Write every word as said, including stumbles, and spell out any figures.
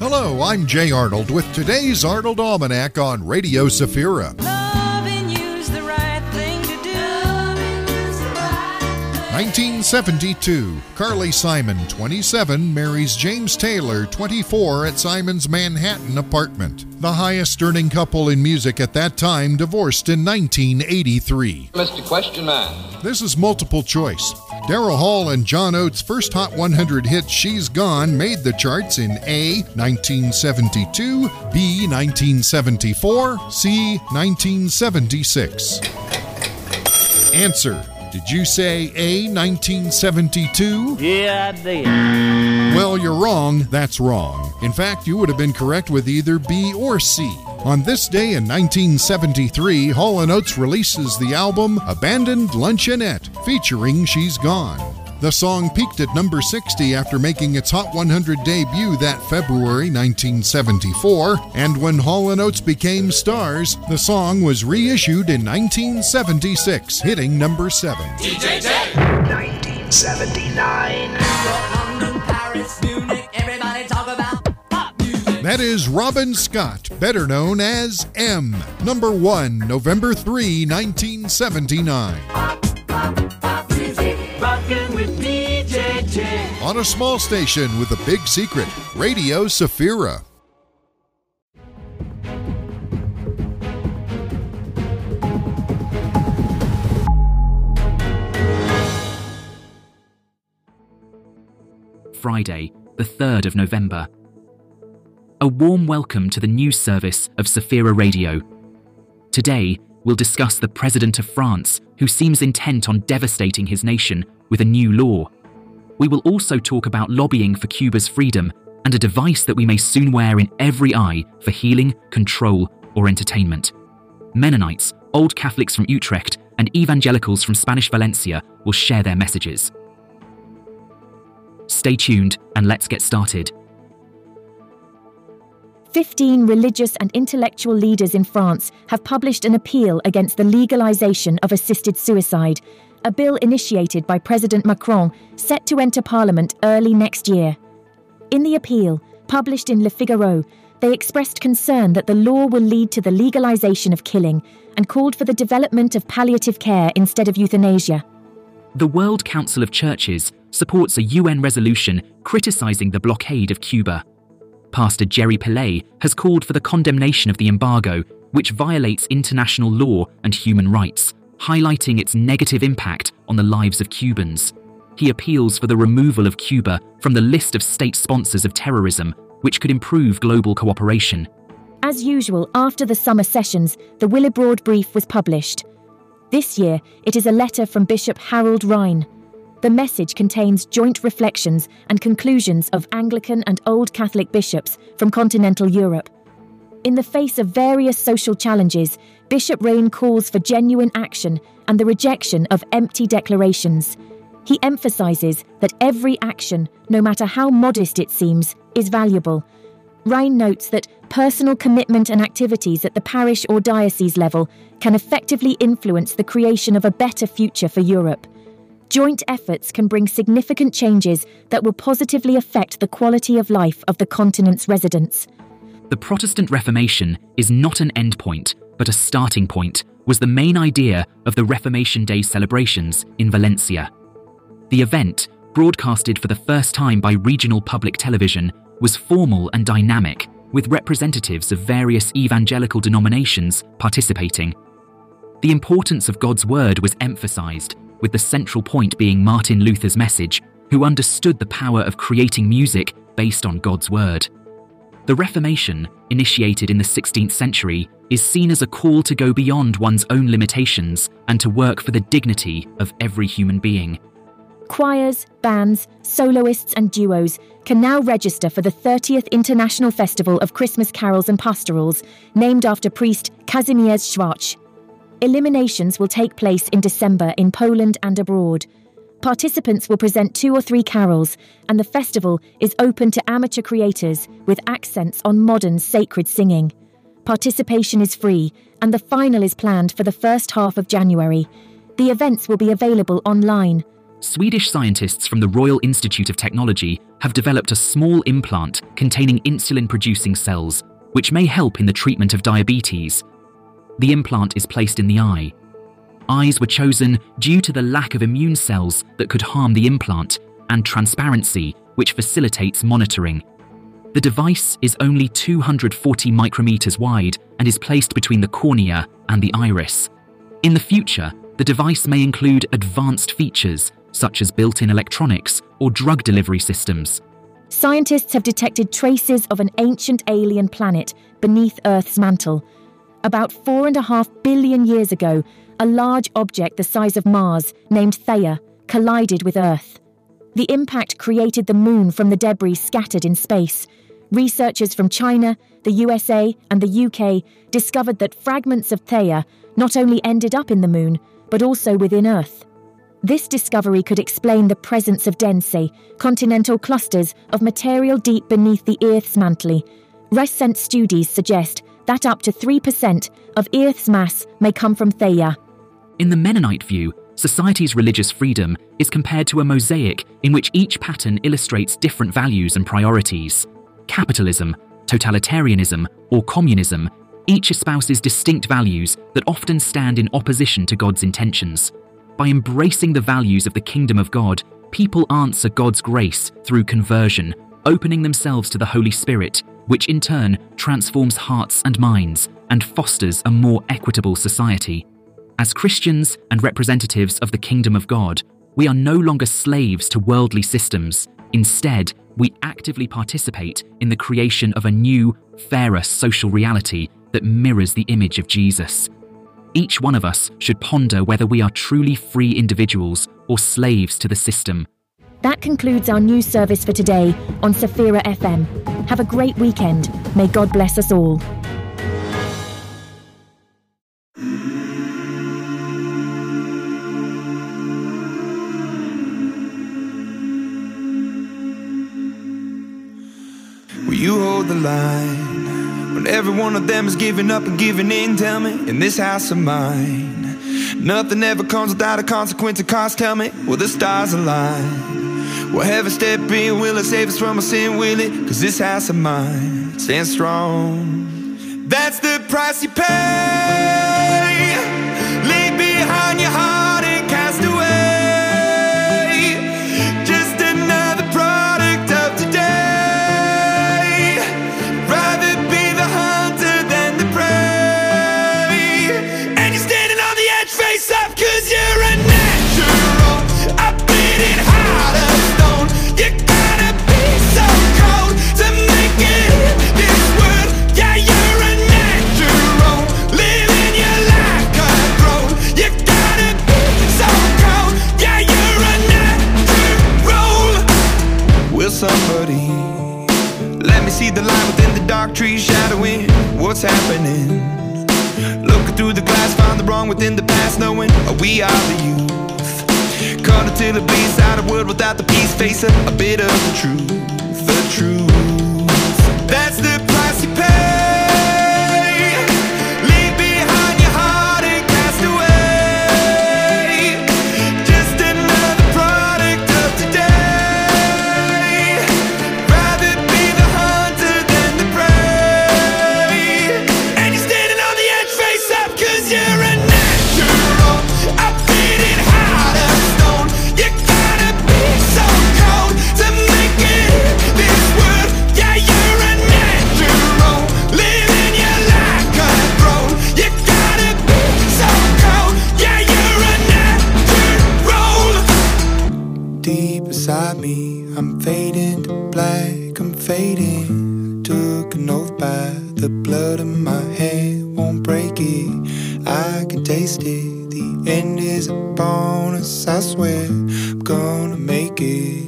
Hello, I'm Jay Arnold with today's Arnold Almanac on Radio Safira. Loving you's the right thing to do. nineteen seventy-two, Carly Simon, twenty-seven, marries James Taylor, twenty-four, at Simon's Manhattan apartment. The highest-earning couple in music at that time divorced in nineteen eighty-three. Mister Question Man. This is multiple choice. Daryl Hall and John Oates' first Hot one hundred hit, She's Gone, made the charts in A, nineteen seventy-two, B, nineteen seventy-four, C, nineteen seventy-six. Answer. Did you say A, nineteen seventy-two? Yeah, I did. Well, you're wrong. That's wrong. In fact, you would have been correct with either B or C. On this day in nineteen seventy-three, Hall and Oates releases the album Abandoned Luncheonette, featuring She's Gone. The song peaked at number sixty after making its Hot one hundred debut that February nineteen seventy-four, and when Hall and Oates became stars, the song was reissued in nineteen seventy-six, hitting number seven. D J J! nineteen seventy-nine. London, Paris, Munich, everybody talk about pop music. That is Robin Scott, better known as M. Number one, November third, nineteen seventy-nine. Pop, pop, pop music. Rockin' with D J J. On a small station with a big secret, Radio Safira. Friday, the third of November. A warm welcome to the news service of Safira Radio. Today, we'll discuss the President of France, who seems intent on devastating his nation with a new law. We will also talk about lobbying for Cuba's freedom and a device that we may soon wear in every eye for healing, control, or entertainment. Mennonites, Old Catholics from Utrecht, and evangelicals from Spanish Valencia will share their messages. Stay tuned and let's get started. Fifteen religious and intellectual leaders in France have published an appeal against the legalization of assisted suicide, a bill initiated by President Macron set to enter Parliament early next year. In the appeal, published in Le Figaro, they expressed concern that the law will lead to the legalization of killing and called for the development of palliative care instead of euthanasia. The World Council of Churches supports a U N resolution criticizing the blockade of Cuba. Pastor Jerry Pillay has called for the condemnation of the embargo, which violates international law and human rights, highlighting its negative impact on the lives of Cubans. He appeals for the removal of Cuba from the list of state sponsors of terrorism, which could improve global cooperation. As usual, after the summer sessions, the Willibrord Brief was published. This year, it is a letter from Bishop Harold Rhine. The message contains joint reflections and conclusions of Anglican and Old Catholic bishops from continental Europe. In the face of various social challenges, Bishop Rhine calls for genuine action and the rejection of empty declarations. He emphasizes that every action, no matter how modest it seems, is valuable. Rhine notes that personal commitment and activities at the parish or diocese level can effectively influence the creation of a better future for Europe. Joint efforts can bring significant changes that will positively affect the quality of life of the continent's residents. The Protestant Reformation is not an endpoint, but a starting point, was the main idea of the Reformation Day celebrations in Valencia. The event, broadcasted for the first time by regional public television, was formal and dynamic, with representatives of various evangelical denominations participating. The importance of God's word was emphasized, with the central point being Martin Luther's message, who understood the power of creating music based on God's word. The Reformation, initiated in the sixteenth century, is seen as a call to go beyond one's own limitations and to work for the dignity of every human being. Choirs, bands, soloists and duos can now register for the thirtieth International Festival of Christmas Carols and Pastorals, named after priest Kazimierz Schwarz. Eliminations will take place in December in Poland and abroad. Participants will present two or three carols, and the festival is open to amateur creators with accents on modern sacred singing. Participation is free, and the final is planned for the first half of January. The events will be available online. Swedish scientists from the Royal Institute of Technology have developed a small implant containing insulin-producing cells, which may help in the treatment of diabetes. The implant is placed in the eye. Eyes were chosen due to the lack of immune cells that could harm the implant and transparency, which facilitates monitoring. The device is only two hundred forty micrometers wide and is placed between the cornea and the iris. In the future, the device may include advanced features such as built-in electronics or drug delivery systems. Scientists have detected traces of an ancient alien planet beneath Earth's mantle. About four and a half billion years ago, a large object the size of Mars, named Theia, collided with Earth. The impact created the moon from the debris scattered in space. Researchers from China, the U S A, and the U K discovered that fragments of Theia not only ended up in the moon, but also within Earth. This discovery could explain the presence of dense, continental clusters of material deep beneath the Earth's mantle. Recent studies suggest that up to three percent of Earth's mass may come from Theia. In the Mennonite view, society's religious freedom is compared to a mosaic in which each pattern illustrates different values and priorities. Capitalism, totalitarianism, or communism, each espouses distinct values that often stand in opposition to God's intentions. By embracing the values of the kingdom of God, people answer God's grace through conversion, opening themselves to the Holy Spirit, which in turn transforms hearts and minds and fosters a more equitable society. As Christians and representatives of the kingdom of God, we are no longer slaves to worldly systems. Instead, we actively participate in the creation of a new, fairer social reality that mirrors the image of Jesus. Each one of us should ponder whether we are truly free individuals or slaves to the system. That concludes our news service for today on Safira F M. Have a great weekend. May God bless us all. Will you hold the line when every one of them is giving up and giving in? Tell me, in this house of mine, nothing ever comes without a consequence of cost. Tell me, will the stars align? Will heaven step in? Will it save us from our sin? Will it? Cause this house of mine stands strong. That's the price you pay. Leave behind your heart and cast away. Just another product of today. Rather be the hunter than the prey. And you're standing on the edge, face up, cause you're a natural. A beating heart of stone. You gotta be so cold to make it in this world. Yeah, you're a natural. Living your life cutthroat. You gotta be so cold. Yeah, you're a natural. Will somebody let me see the light within the dark trees shadowing what's happening? Looking through the glass, find the wrong within the past, knowing we are the youth. Caught until it bleeds out a world without the peace, face a, a bit of the truth, the truth. That's the price you pay. Leave behind your heart and cast away. Just another product of today. Rather be the hunter than the prey. And you're standing on the edge, face up, cause you're a natural. A beating heart of stone. You gotta be so cold to make it in this world. Yeah, you're a natural. Living your life cutthroat. You gotta be so cold. Yeah, you're a natural. Deep inside me, I'm fading to black, I'm fading. Took an oath by the blood in my hand, won't break it. I can taste it. The end is upon us, I swear I'm gonna make it.